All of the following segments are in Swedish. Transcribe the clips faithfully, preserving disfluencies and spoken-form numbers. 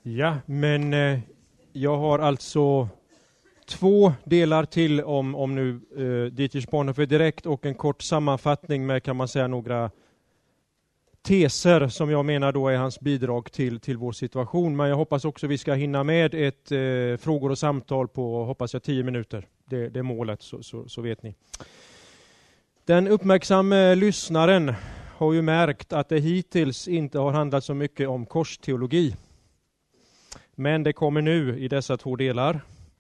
Ja, men eh, jag har alltså två delar till om, om nu eh, Dietrich Bonhoeffer direkt och en kort sammanfattning med, kan man säga, några teser som jag menar då är hans bidrag till, till vår situation. Men jag hoppas också vi ska hinna med ett eh, frågor och samtal på, hoppas jag, tio minuter. Det, det är målet, så, så, så vet ni. Den uppmärksamma lyssnaren har ju märkt att det hittills inte har handlat så mycket om korsteologi. Men det kommer nu i dessa två delar.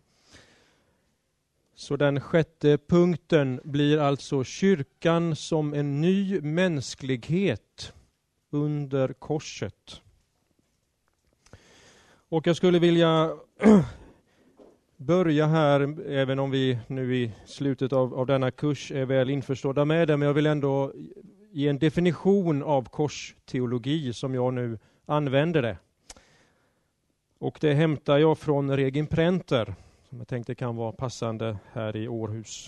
Så den sjätte punkten blir alltså kyrkan som en ny mänsklighet under korset. Och jag skulle vilja börja här, även om vi nu i slutet av, av denna kurs är väl införstådda med det, men jag vill ändå ge en definition av korsteologi som jag nu använder det. Och det hämtar jag från Regin Prenter, som jag tänkte kan vara passande här i Århus.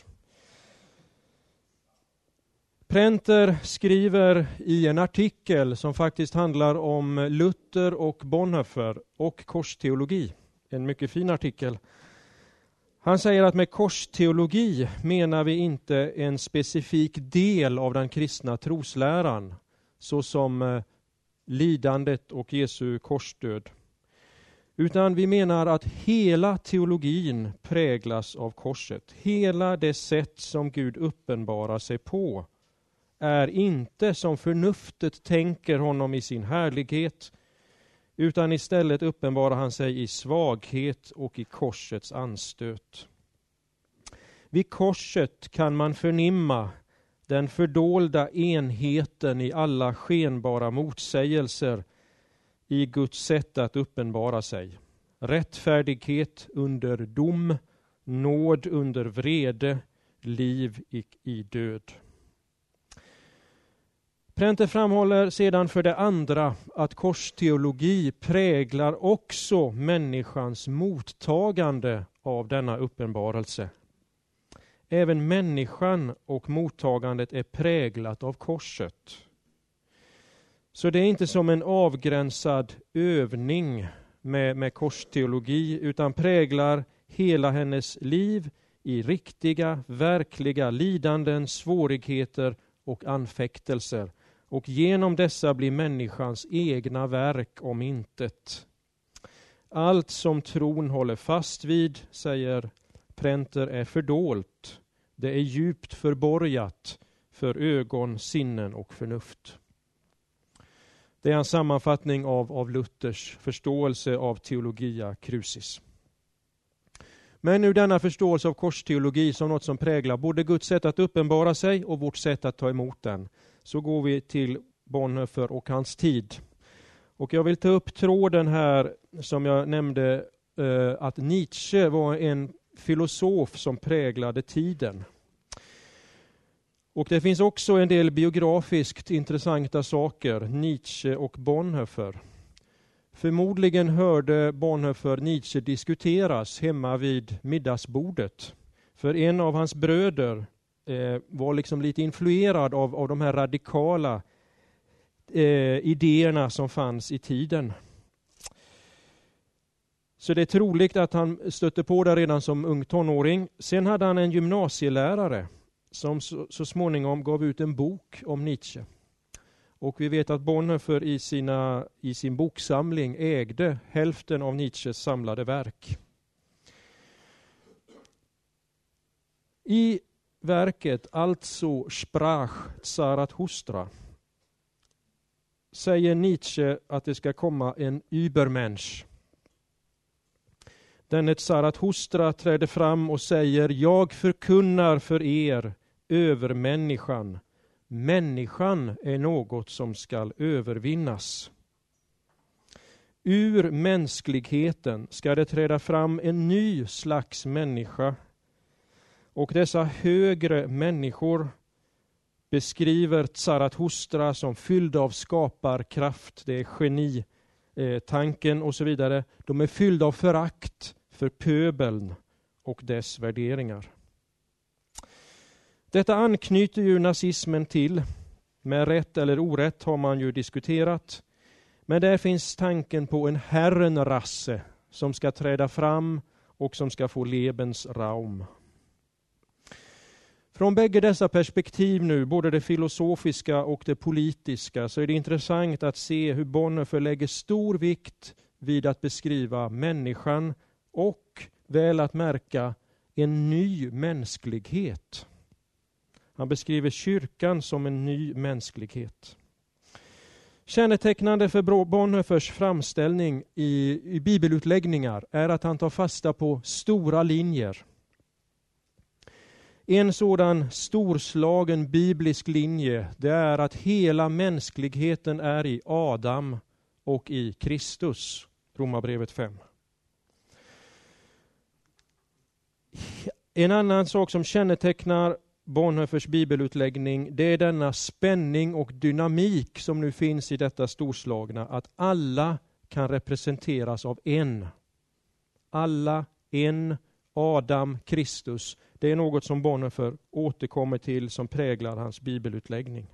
Prenter skriver i en artikel som faktiskt handlar om Luther och Bonhoeffer och korsteologi. En mycket fin artikel. Han säger att med korsteologi menar vi inte en specifik del av den kristna trosläran, såsom lidandet och Jesu korsdöd. Utan vi menar att hela teologin präglas av korset. Hela det sätt som Gud uppenbarar sig på är inte som förnuftet tänker honom i sin härlighet, utan istället uppenbarar han sig i svaghet och i korsets anstöt. Vid korset kan man förnimma den fördolda enheten i alla skenbara motsägelser i Guds sätt att uppenbara sig. Rättfärdighet under dom, nåd under vrede, liv i, i död. Prenter framhåller sedan för det andra att korsteologi präglar också människans mottagande av denna uppenbarelse. Även människan och mottagandet är präglat av korset. Så det är inte som en avgränsad övning med, med korsteologi, utan präglar hela hennes liv i riktiga, verkliga lidanden, svårigheter och anfäktelser. Och genom dessa blir människans egna verk om intet. Allt som tron håller fast vid, säger Prenter, är fördolt. Det är djupt förborgat för ögon, sinnen och förnuft. Det är en sammanfattning av, av Luthers förståelse av teologia crucis. Men nu denna förståelse av korsteologi som något som präglar både Guds sätt att uppenbara sig och vårt sätt att ta emot den, så går vi till Bonhoeffer och hans tid. Och jag vill ta upp tråden här som jag nämnde, eh, att Nietzsche var en filosof som präglade tiden. Och det finns också en del biografiskt intressanta saker, Nietzsche och Bonhoeffer. Förmodligen hörde Bonhoeffer Nietzsche diskuteras hemma vid middagsbordet. För en av hans bröder eh, var liksom lite influerad av, av de här radikala eh, idéerna som fanns i tiden. Så det är troligt att han stötte på det redan som ung tonåring. Sen hade han en gymnasielärare som så, så småningom gav ut en bok om Nietzsche. Och vi vet att Bonhoeffer i, sina, i sin boksamling ägde hälften av Nietzsches samlade verk. I verket alltså Sprach Zarathustra säger Nietzsche att det ska komma en Übermensch. Denne Zarathustra träder fram och säger: jag förkunnar för er övermänniskan. Människan är något som ska övervinnas. Ur mänskligheten ska det träda fram en ny slags människa. Och dessa högre människor beskriver Zarathustra som fylld av skaparkraft. Det är geni, eh, tanken och så vidare. De är fyllda av förakt för pöbeln och dess värderingar. Detta anknyter ju nazismen till. Med rätt eller orätt har man ju diskuterat. Men där finns tanken på en herrenrasse som ska träda fram och som ska få Lebensraum. Från bägge dessa perspektiv nu, både det filosofiska och det politiska, så är det intressant att se hur Bonhoeffer lägger stor vikt vid att beskriva människan och, väl att märka, en ny mänsklighet. Han beskriver kyrkan som en ny mänsklighet. Kännetecknande för Bonhoeffers framställning i, i bibelutläggningar är att han tar fasta på stora linjer. En sådan storslagen biblisk linje, det är att hela mänskligheten är i Adam och i Kristus. Romarbrevet fem. En annan sak som kännetecknar Bonhoeffers bibelutläggning, det är denna spänning och dynamik som nu finns i detta storslagna, att alla kan representeras av en. Alla, en, Adam, Kristus. Det är något som Bonhoeffer återkommer till som präglar hans bibelutläggning.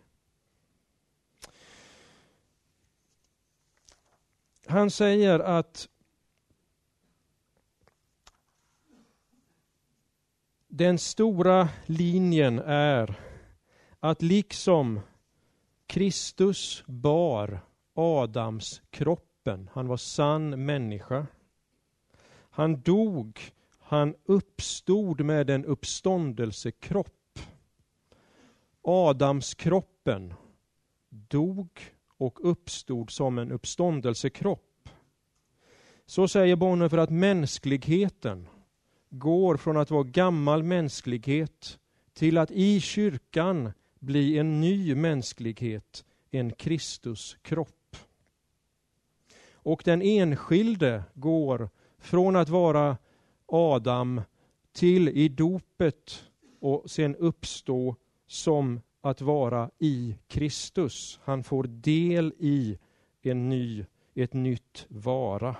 Han säger att den stora linjen är att liksom Kristus bar Adams kroppen, han var sann människa. Han dog, han uppstod med en uppståndelsekropp. Adams kroppen dog och uppstod som en uppståndelsekropp. Så säger Bonhoeffer att mänskligheten går från att vara gammal mänsklighet till att i kyrkan bli en ny mänsklighet, en Kristuskropp. Och den enskilde går från att vara Adam till i dopet och sen uppstå som att vara i Kristus. Han får del i en ny, ett nytt vara.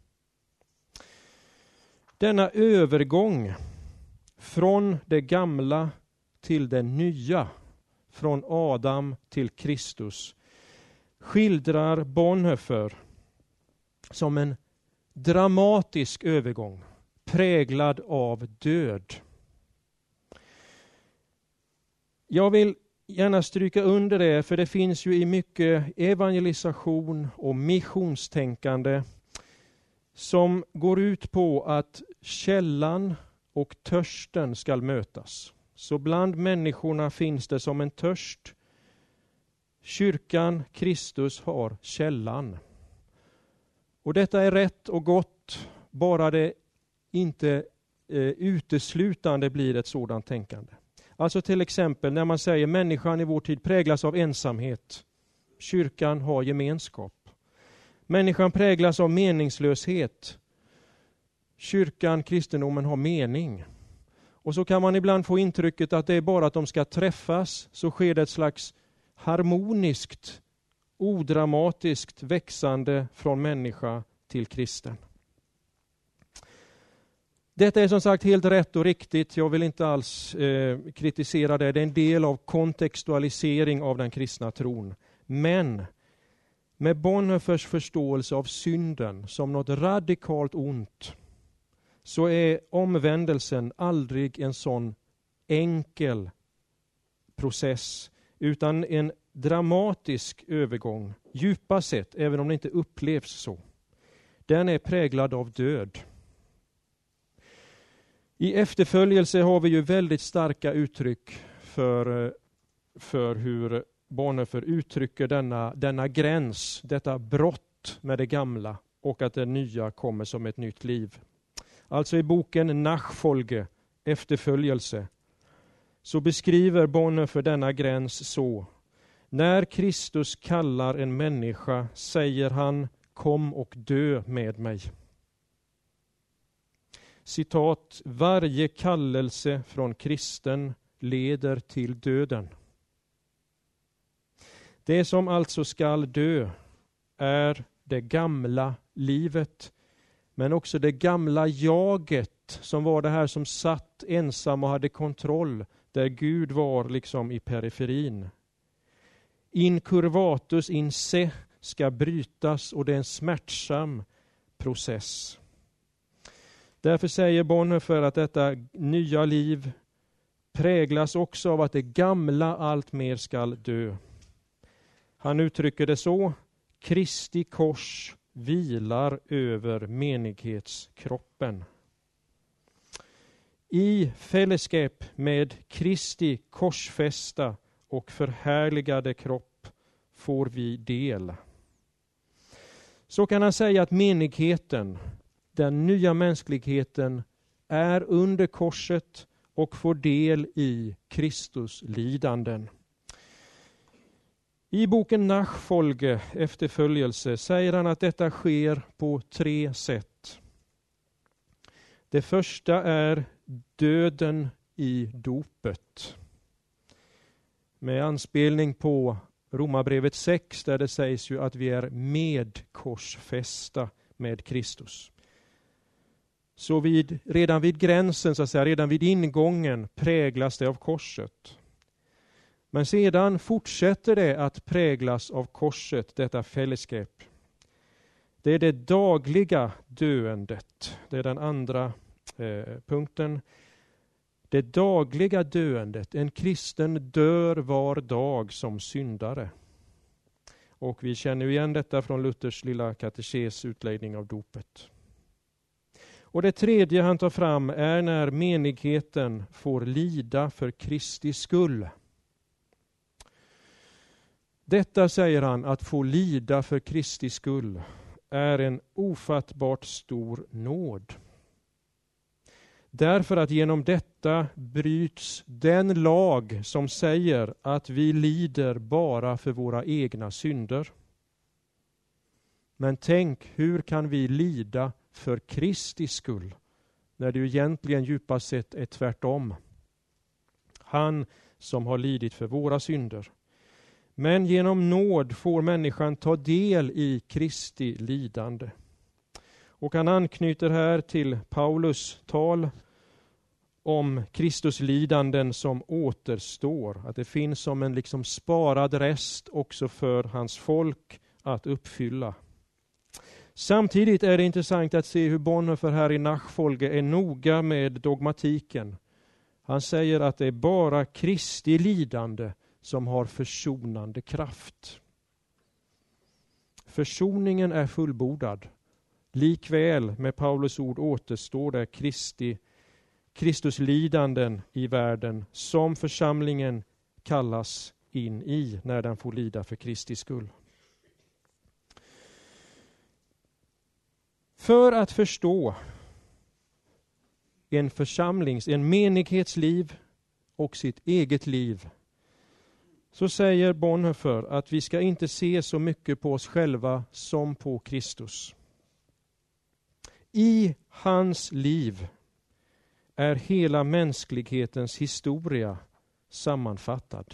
Denna övergång från det gamla till det nya, från Adam till Kristus, skildrar Bonhoeffer som en dramatisk övergång, präglad av död. Jag vill gärna stryka under det, för det finns ju i mycket evangelisation och missionstänkande som går ut på att källan och törsten ska mötas. Så bland människorna finns det som en törst. Kyrkan, Kristus, har källan. Och detta är rätt och gott, bara det inte eh, uteslutande blir ett sådant tänkande. Alltså till exempel när man säger människan i vår tid präglas av ensamhet. Kyrkan har gemenskap. Människan präglas av meningslöshet. Kyrkan, kristendomen har mening. Och så kan man ibland få intrycket att det är bara att de ska träffas, så sker det ett slags harmoniskt, odramatiskt växande från människa till kristen. Detta är som sagt helt rätt och riktigt. Jag vill inte alls eh, kritisera det. Det är en del av kontextualisering av den kristna tron. Men med Bonhoeffers förståelse av synden som något radikalt ont, så är omvändelsen aldrig en sån enkel process, utan en dramatisk övergång, djupa sett, även om det inte upplevs så. Den är präglad av död. I efterföljelse har vi ju väldigt starka uttryck för, för hur Bonhoeffer uttrycker denna, denna gräns, detta brott med det gamla och att det nya kommer som ett nytt liv. Alltså i boken Nachfolge, efterföljelse, så beskriver Bonhoeffer denna gräns så: när Kristus kallar en människa säger han: kom och dö med mig. Citat: varje kallelse från kristen leder till döden. Det som alltså skall dö är det gamla livet, men också det gamla jaget som var det här som satt ensam och hade kontroll, där Gud var liksom i periferin. In curvatus in se, ska brytas och det är en smärtsam process. Därför säger Bonhoeffer att detta nya liv präglas också av att det gamla allt mer skall dö. Han uttrycker det så: Kristi kors vilar över menighetskroppen. I fällskap med Kristi korsfästa och förhärligade kropp får vi del. Så kan han säga att menigheten, den nya mänskligheten, är under korset och får del i Kristus lidanden. I boken Nachfolge, efterföljelse, säger han att detta sker på tre sätt. Det första är döden i dopet. Med anspelning på Romarbrevet sex, där det sägs ju att vi är medkorsfästa med Kristus. Så vid, redan vid gränsen, så att säga, redan vid ingången präglas det av korset. Men sedan fortsätter det att präglas av korset, detta fällskap. Det är det dagliga döendet. Det är den andra eh, punkten. Det dagliga döendet. En kristen dör var dag som syndare. Och vi känner igen detta från Luthers lilla katekes utläggning av dopet. Och det tredje han tar fram är när menigheten får lida för Kristi skull. Detta, säger han, att få lida för Kristi skull är en ofattbart stor nåd. Därför att genom detta bryts den lag som säger att vi lider bara för våra egna synder. Men tänk, hur kan vi lida för Kristi skull, när det ju egentligen djupast sett är tvärtom. Han som har lidit för våra synder. Men genom nåd får människan ta del i Kristi lidande. Och han anknyter här till Paulus tal om Kristus lidanden som återstår. Att det finns som en liksom sparad rest också för hans folk att uppfylla. Samtidigt är det intressant att se hur Bonhoeffer här i Nachfolge är noga med dogmatiken. Han säger att det är bara Kristi lidande som har försonande kraft. Försoningen är fullbordad. Likväl med Paulus ord återstår det Kristi, Kristus lidanden i världen som församlingen kallas in i när den får lida för Kristi skull. För att förstå en församlings, en menighetsliv och sitt eget liv, så säger Bonhoeffer att vi ska inte se så mycket på oss själva som på Kristus. I hans liv är hela mänsklighetens historia sammanfattad.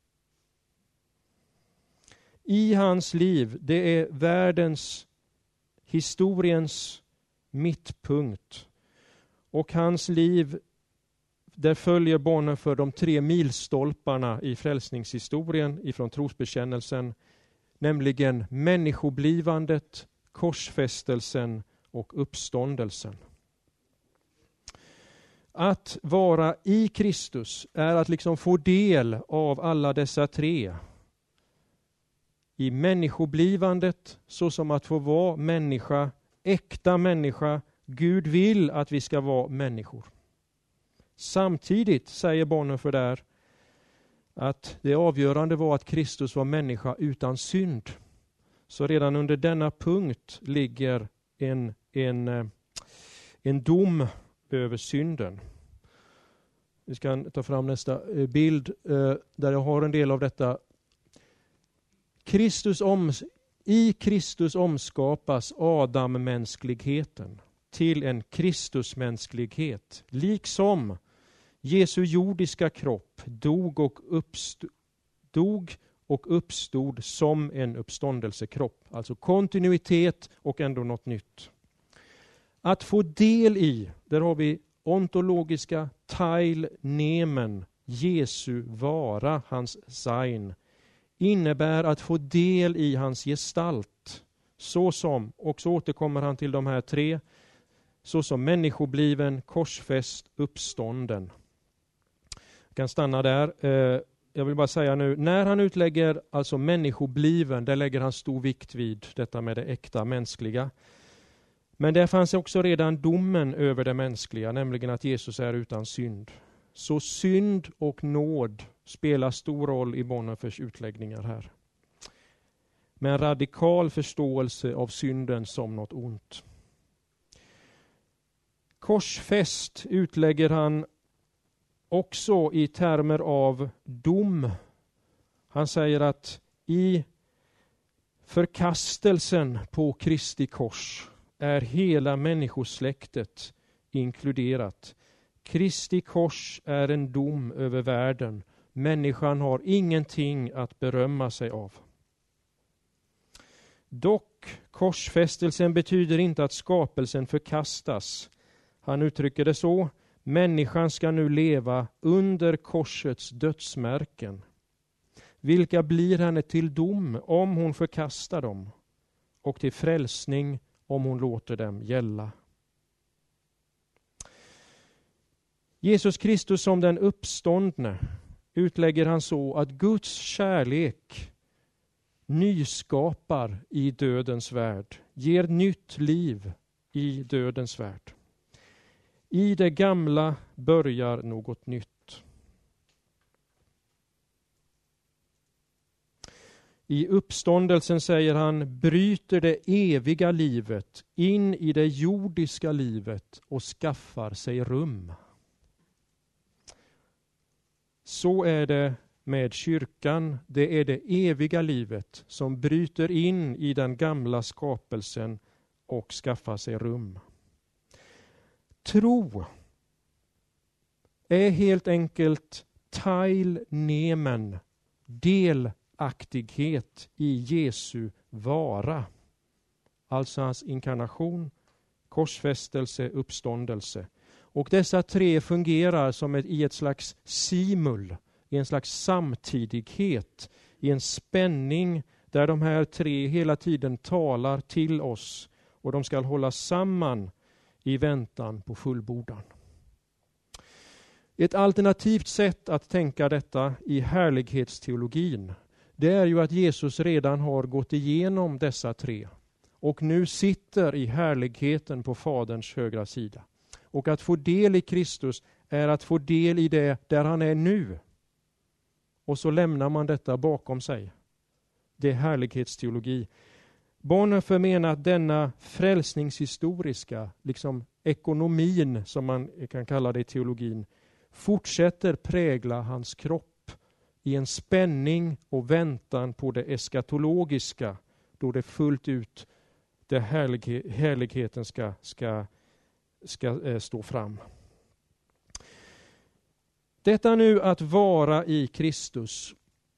I hans liv, det är världens, historiens mittpunkt. Och hans liv, där följer Bonhoeffer de tre milstolparna i frälsningshistorien ifrån trosbekännelsen, nämligen människoblivandet, korsfästelsen och uppståndelsen. Att vara i Kristus är att liksom få del av alla dessa tre. I människoblivandet, så som att få vara människa, äkta människa. Gud vill att vi ska vara människor. Samtidigt säger Bonhoeffer där att det avgörande var att Kristus var människa utan synd. Så redan under denna punkt ligger en, en, en dom över synden. Vi ska ta fram nästa bild där jag har en del av detta. Kristus om, I Kristus omskapas Adam-mänskligheten till en Kristusmänsklighet, liksom Jesu jordiska kropp dog och, uppstod, dog och uppstod som en uppståndelsekropp. Alltså kontinuitet och ändå något nytt. Att få del i, där har vi ontologiska teilnehmen, Jesu vara, hans sein, innebär att få del i hans gestalt. Så som, och så återkommer han till de här tre, så som människobliven, korsfäst, uppstånden. Jag kan stanna där. Jag vill bara säga nu, när han utlägger alltså människobliven, där lägger han stor vikt vid detta med det äkta mänskliga. Men där fanns också redan domen över det mänskliga, nämligen att Jesus är utan synd. Så synd och nåd spelar stor roll i Bonhoeffers utläggningar här. Med en radikal förståelse av synden som något ont. Korsfäst utlägger han också i termer av dom. Han säger att i förkastelsen på Kristi kors är hela människosläktet inkluderat. Kristi kors är en dom över världen. Människan har ingenting att berömma sig av. Dock, korsfästelsen betyder inte att skapelsen förkastas. Han uttrycker det så: människan ska nu leva under korsets dödsmärken. Vilka blir henne till dom om hon förkastar dem, och till frälsning om hon låter dem gälla. Jesus Kristus som den uppståndne utlägger han så att Guds kärlek nyskapar i dödens värld, ger nytt liv i dödens värld. I det gamla börjar något nytt. I uppståndelsen, säger han, bryter det eviga livet in i det jordiska livet och skaffar sig rum. Så är det med kyrkan. Det är det eviga livet som bryter in i den gamla skapelsen och skaffar sig rum. Tro är helt enkelt teilnemen, delaktighet i Jesu vara. Alltså hans inkarnation, korsfästelse, uppståndelse. Och dessa tre fungerar som ett, i ett slags simul, i en slags samtidighet, i en spänning där de här tre hela tiden talar till oss, och de ska hålla samman i väntan på fullbordan. Ett alternativt sätt att tänka detta i härlighetsteologin, det är ju att Jesus redan har gått igenom dessa tre och nu sitter i härligheten på Faderns högra sida. Och att få del i Kristus är att få del i det där han är nu. Och så lämnar man detta bakom sig. Det är härlighetsteologi. Bonhoeffer menar att denna frälsningshistoriska, liksom ekonomin som man kan kalla det i teologin, fortsätter prägla hans kropp i en spänning och väntan på det eskatologiska, då det fullt ut det härlig- härligheten ska, ska, ska eh, stå fram. Detta nu att vara i Kristus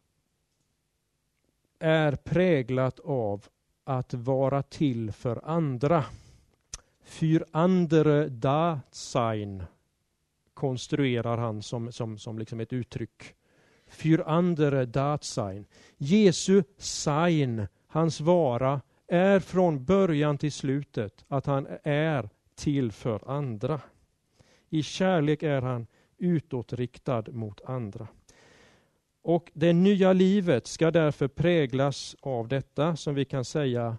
är präglat av att vara till för andra. Für andere da sein konstruerar han som, som, som liksom ett uttryck. Für andere da sein. Jesu sein, hans vara, är från början till slutet att han är till för andra. I kärlek är han utåtriktad mot andra. Och det nya livet ska därför präglas av detta som vi kan säga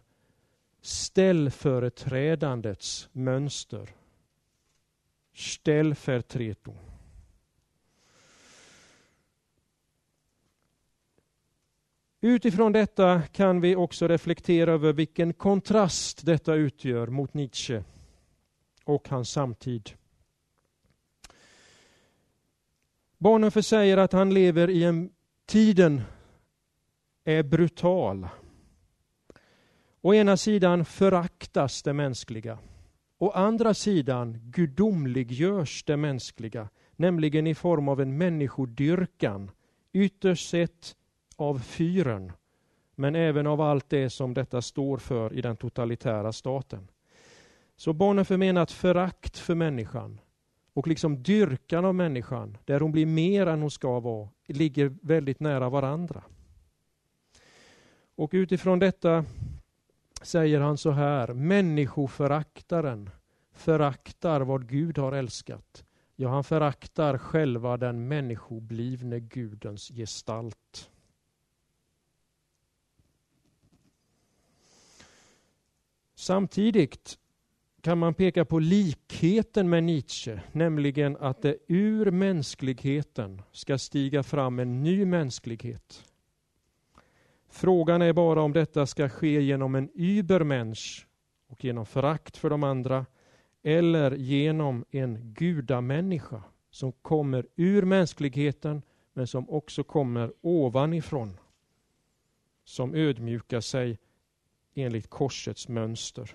ställföreträdandets mönster. Ställföreträdung. Utifrån detta kan vi också reflektera över vilken kontrast detta utgör mot Nietzsche och hans samtid. Bonhoeffer säger att han lever i en tiden är brutal. Å ena sidan föraktas det mänskliga. Å andra sidan gudomliggörs det mänskliga, nämligen i form av en människodyrkan, ytterst sett av fyren, men även av allt det som detta står för i den totalitära staten. Så Bonhoeffer menar att förakt för människan och liksom dyrkan av människan, där hon blir mer än hon ska vara, ligger väldigt nära varandra. Och utifrån detta säger han så här: människoföraktaren föraktar vad Gud har älskat. Ja, han föraktar själva den människoblivne Gudens gestalt. Samtidigt kan man peka på likheten med Nietzsche, nämligen att det ur mänskligheten ska stiga fram en ny mänsklighet. Frågan är bara om detta ska ske genom en übermensch och genom förakt för de andra, eller genom en gudamänniska som kommer ur mänskligheten men som också kommer ovanifrån, som ödmjukar sig enligt korsets mönster.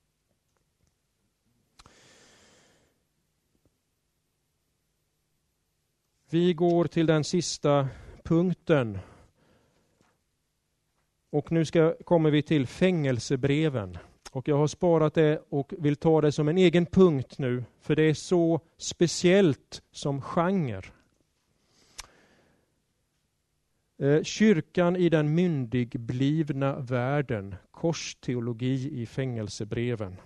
Vi går till den sista punkten. Och nu ska, kommer vi till fängelsebreven. Och jag har sparat det och vill ta det som en egen punkt nu. För det är så speciellt som genre. Eh, kyrkan i den myndigblivna världen. Korsteologi i fängelsebreven.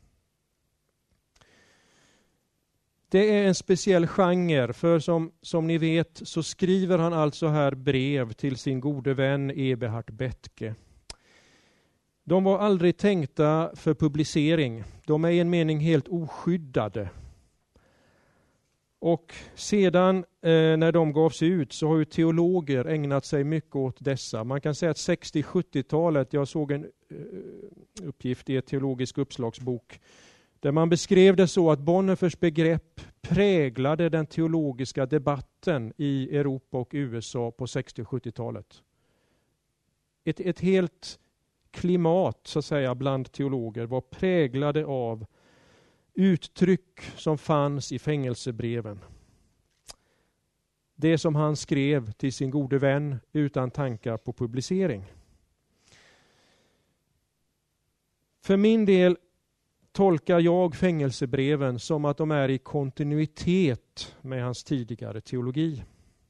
Det är en speciell genre, för som, som ni vet så skriver han alltså här brev till sin gode vän Eberhard Bethge. De var aldrig tänkta för publicering. De är i en mening helt oskyddade. Och sedan eh, när de gavs ut så har ju teologer ägnat sig mycket åt dessa. Man kan säga att sextio-sjuttiotalet, jag såg en eh, uppgift i ett teologisk uppslagsbok, där man beskrev det så att Bonhoeffers begrepp präglade den teologiska debatten i Europa och U S A på sextio-sjuttiotalet. Ett, ett helt klimat så att säga bland teologer var präglade av uttryck som fanns i fängelsebreven. Det som han skrev till sin gode vän utan tankar på publicering. För min del tolkar jag fängelsebreven som att de är i kontinuitet med hans tidigare teologi.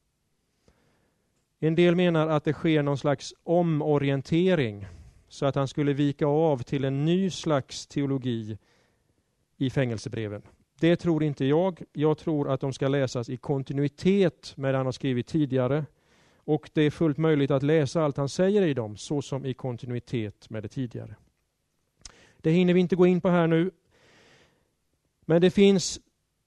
En del menar att det sker någon slags omorientering så att han skulle vika av till en ny slags teologi i fängelsebreven. Det tror inte jag. Jag tror att de ska läsas i kontinuitet med det han har skrivit tidigare. Och det är fullt möjligt att läsa allt han säger i dem så som i kontinuitet med det tidigare. Det hinner vi inte gå in på här nu. Men det finns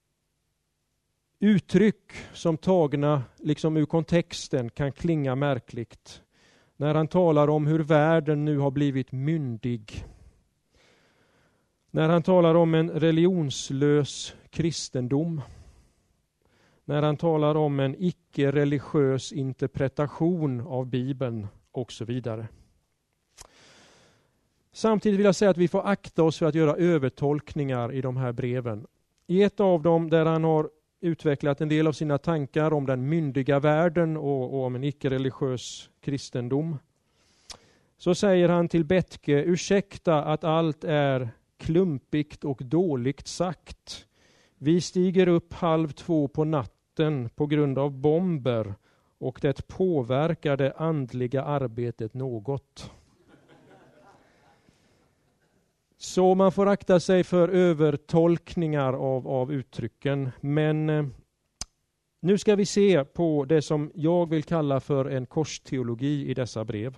uttryck som tagna liksom ur kontexten kan klinga märkligt. När han talar om hur världen nu har blivit myndig. När han talar om en religionslös kristendom. När han talar om en icke-religiös interpretation av Bibeln och så vidare. Samtidigt vill jag säga att vi får akta oss för att göra övertolkningar i de här breven. I ett av dem där han har utvecklat en del av sina tankar om den myndiga världen och, och om en icke-religiös kristendom, så säger han till Bethge: ursäkta att allt är klumpigt och dåligt sagt. Vi stiger upp halv två på natten på grund av bomber och det påverkar det andliga arbetet något. Så man får akta sig för övertolkningar av, av uttrycken. Men eh, nu ska vi se på det som jag vill kalla för en korsteologi i dessa brev.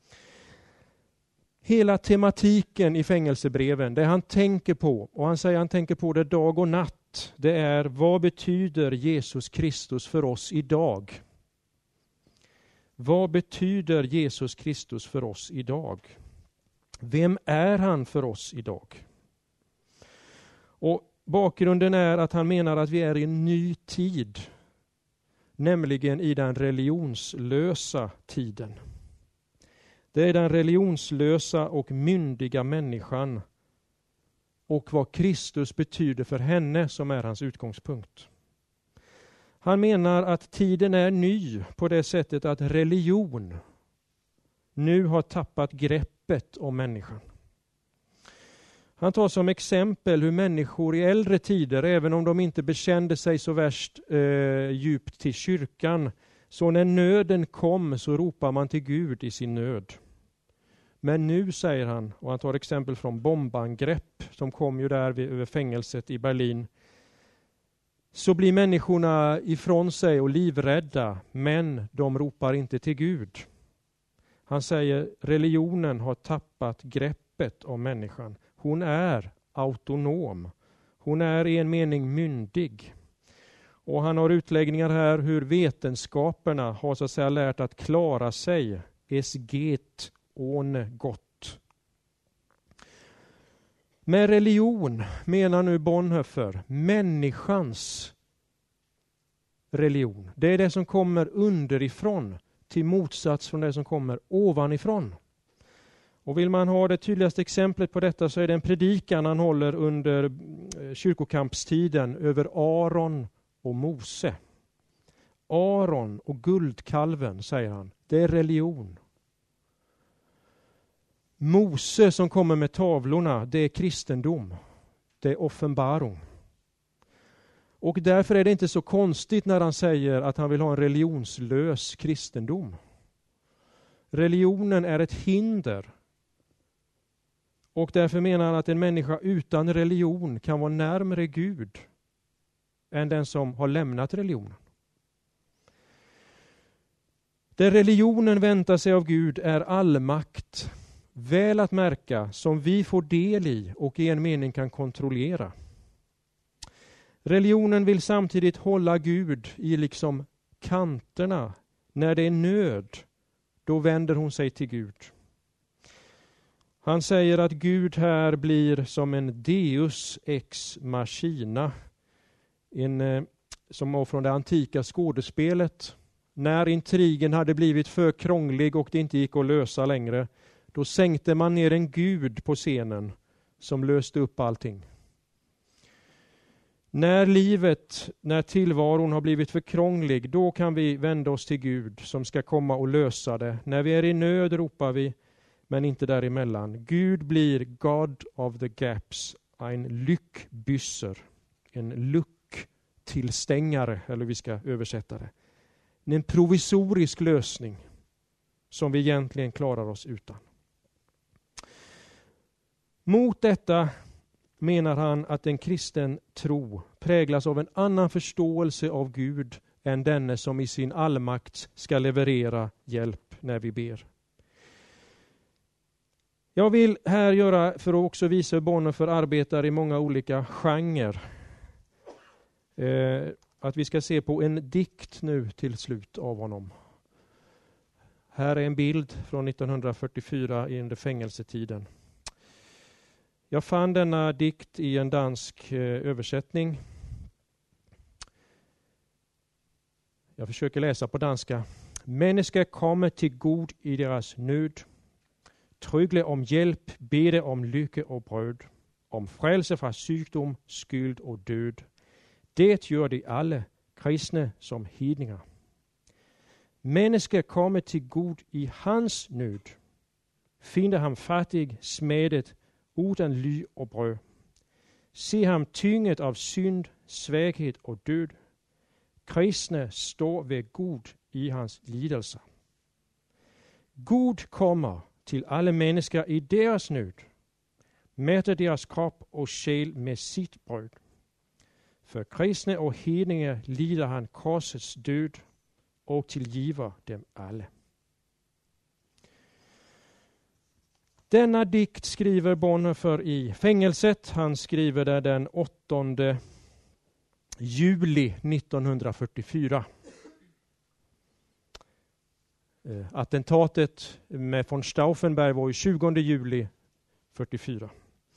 Hela tematiken i fängelsebreven, det han tänker på, och han säger han tänker på det dag och natt, det är: vad betyder Jesus Kristus för oss idag? Vad betyder Jesus Kristus för oss idag? Vem är han för oss idag? Och bakgrunden är att han menar att vi är i en ny tid, nämligen i den religionslösa tiden. Det är den religionslösa och myndiga människan och vad Kristus betyder för henne som är hans utgångspunkt. Han menar att tiden är ny på det sättet att religion nu har tappat greppet om människan. Han tar som exempel hur människor i äldre tider, även om de inte bekände sig så värst eh, djupt till kyrkan, så när nöden kom så ropar man till Gud i sin nöd. Men nu, säger han, och han tar exempel från bombangrepp som kom ju där vid, över fängelset i Berlin, så blir människorna ifrån sig och livrädda, men de ropar inte till Gud. Han säger religionen har tappat greppet om människan. Hon är autonom. Hon är i en mening myndig. Och han har utläggningar här hur vetenskaperna har så att säga lärt att klara sig. Es geht ohne Gott. Med religion menar nu Bonhoeffer människans religion. Det är det som kommer underifrån till motsats från det som kommer ovanifrån. Och vill man ha det tydligaste exemplet på detta så är det en predikan han håller under kyrkokampstiden över Aron och Mose. Aron och guldkalven, säger han, det är religion. Mose som kommer med tavlorna, det är kristendom. Det är offenbarung. Och därför är det inte så konstigt när han säger att han vill ha en religionslös kristendom. Religionen är ett hinder. Och därför menar han att en människa utan religion kan vara närmare Gud än den som har lämnat religionen. Det religionen väntar sig av Gud är allmakt, väl att märka, som vi får del i och i en mening kan kontrollera. Religionen vill samtidigt hålla Gud i liksom kanterna. När det är nöd, då vänder hon sig till Gud. Han säger att Gud här blir som en deus ex machina, en, eh, som var från det antika skådespelet. När intrigen hade blivit för krånglig och det inte gick att lösa längre, då sänkte man ner en gud på scenen som löste upp allting. När livet, när tillvaron har blivit för krånglig, då kan vi vända oss till Gud som ska komma och lösa det. När vi är i nöd ropar vi, men inte däremellan. Gud blir God of the gaps, en lyckbysser, en lucktillstängare, eller vi ska översätta det. En provisorisk lösning som vi egentligen klarar oss utan. Mot detta menar han att en kristen tro präglas av en annan förståelse av Gud än denne som i sin allmakt ska leverera hjälp när vi ber. Jag vill här göra, för att också visa hur Bonhoeffer arbetar i många olika genrer, eh, att vi ska se på en dikt nu till slut av honom. Här är en bild från nittonhundrafyrtiofyra under fängelsetiden. Jag fann denna dikt i en dansk eh, översättning. Jag försöker läsa på danska. Mennesker kommer till Gud i deras nöd. Trygle om hjälp, bede om lykke och bröd. Om frälse fra sygdom, skyld och död. Det gör de alle, kristne som hedningar. Mennesker kommer till Gud i hans nöd. Finder ham fattig, smedet, utan ly och brød. Se ham tynget av synd, svaghed och død. Kristne står ved Gud i hans lidelser. Gud kommer til alle mennesker i deres nød. Mætter deres krop og sjæl med sit brød. For kristne og hedninge lider han korsets død og tilgiver dem alle. Denna dikt skriver Bonhoeffer i fängelset. Han skriver det den åttonde juli nittonhundrafyrtiofyra. Eh, attentatet med von Stauffenberg var ju tjugonde juli fyrtiofyra.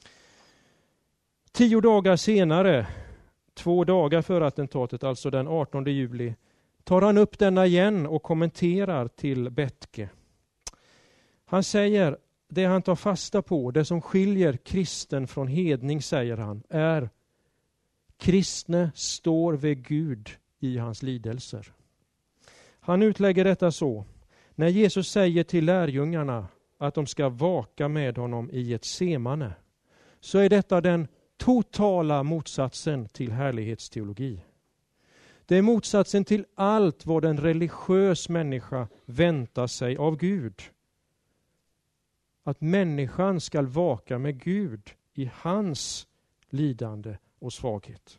Tio dagar senare, två dagar före attentatet, alltså den artonde juli, tar han upp denna igen och kommenterar till Bethge. Han säger, det han tar fasta på, det som skiljer kristen från hedning, säger han, är kristne står vid Gud i hans lidelser. Han utlägger detta så. När Jesus säger till lärjungarna att de ska vaka med honom i ett semane, så är detta den totala motsatsen till härlighetsteologi. Det är motsatsen till allt vad en religiös människa väntar sig av Gud. att människan ska vaka med Gud i hans lidande och svaghet.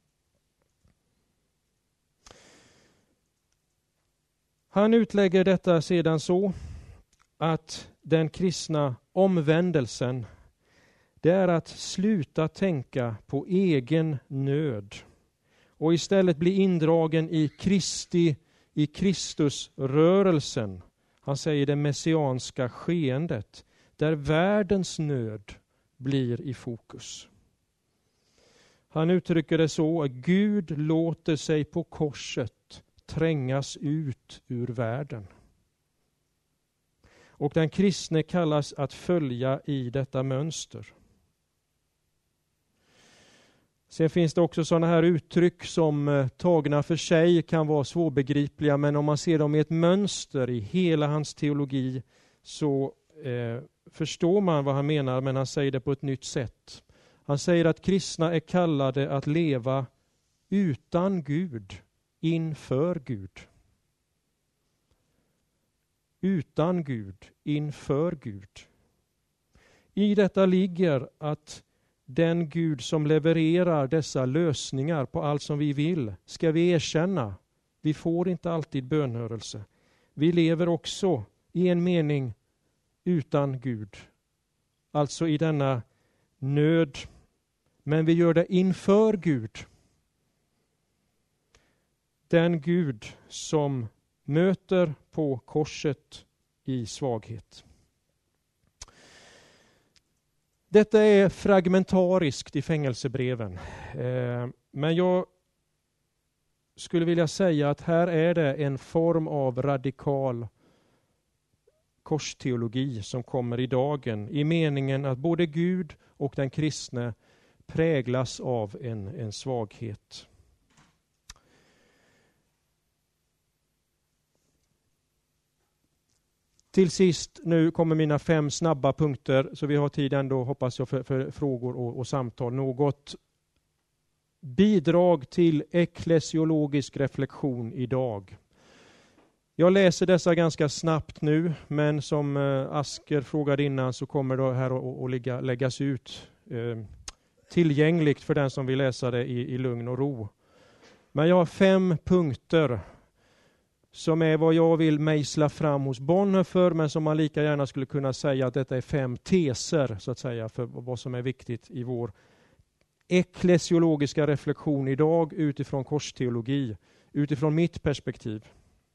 Han utlägger detta sedan så att den kristna omvändelsen, det är att sluta tänka på egen nöd och istället bli indragen i Kristi, i Kristusrörelsen. Han säger det messianska skeendet, där världens nöd blir i fokus. Han uttrycker det så att Gud låter sig på korset trängas ut ur världen. Och den kristne kallas att följa i detta mönster. Sen finns det också sådana här uttryck som eh, tagna för sig kan vara svårbegripliga, men om man ser dem i ett mönster i hela hans teologi så eh, förstår man vad han menar, men han säger det på ett nytt sätt. Han säger att kristna är kallade att leva utan Gud, inför Gud. Utan Gud, inför Gud. I detta ligger att den Gud som levererar dessa lösningar på allt som vi vill ska vi erkänna. Vi får inte alltid bönhörelse. Vi lever också i en mening utan Gud. Alltså i denna nöd. Men vi gör det inför Gud. Den Gud som möter på korset i svaghet. Detta är fragmentariskt i fängelsebreven. Eh, men jag skulle vilja säga att här är det en form av radikal korsteologi som kommer i dagen. I meningen att både Gud och den kristne präglas av en, en svaghet. Till sist, nu kommer mina fem snabba punkter, så vi har tid ändå, hoppas jag, för, för frågor och, och samtal. Något bidrag till eklesiologisk reflektion idag. Jag läser dessa ganska snabbt nu, men som eh, Asker frågade innan så kommer det här att, att ligga, läggas ut eh, tillgängligt för den som vill läsa det i, i lugn och ro. Men jag har fem punkter som är vad jag vill mejsla fram hos Bonhoeffer, men som man lika gärna skulle kunna säga att detta är fem teser så att säga för vad som är viktigt i vår eklesiologiska reflektion idag utifrån korsteologi, utifrån mitt perspektiv.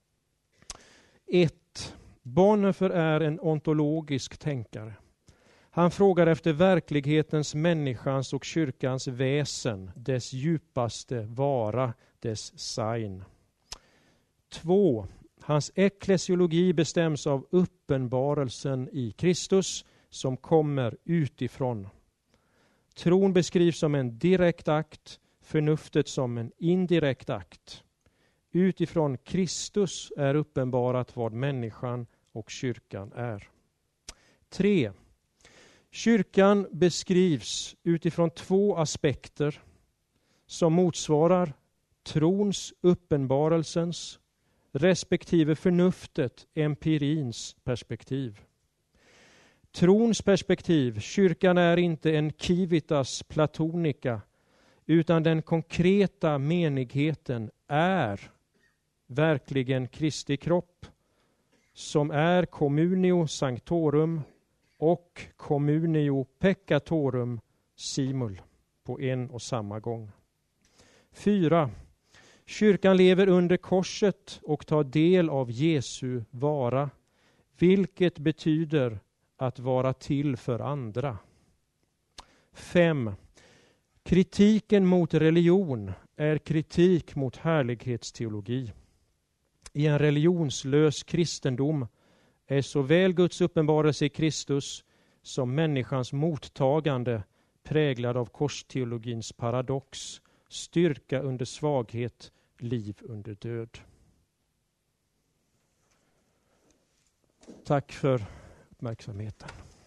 ett. Bonhoeffer är en ontologisk tänkare. Han frågar efter verklighetens, människans och kyrkans väsen, dess djupaste vara, dess sein. två. Hans eklesiologi bestäms av uppenbarelsen i Kristus som kommer utifrån. Tron beskrivs som en direkt akt, förnuftet som en indirekt akt. Utifrån Kristus är uppenbarat vad människan och kyrkan är. tre. Kyrkan beskrivs utifrån två aspekter som motsvarar trons, uppenbarelsens respektive förnuftet, empirins perspektiv. Trons perspektiv, kyrkan är inte en civitas platonica, utan den konkreta menigheten är verkligen Kristi kropp, som är communio sanctorum och communio peccatorum simul på en och samma gång. fyra. Kyrkan lever under korset och tar del av Jesu vara, vilket betyder att vara till för andra. fem. Kritiken mot religion är kritik mot härlighetsteologi. I en religionslös kristendom är såväl Guds uppenbarelse i Kristus som människans mottagande präglad av korsteologins paradox, styrka under svaghet, liv under död. Tack för uppmärksamheten.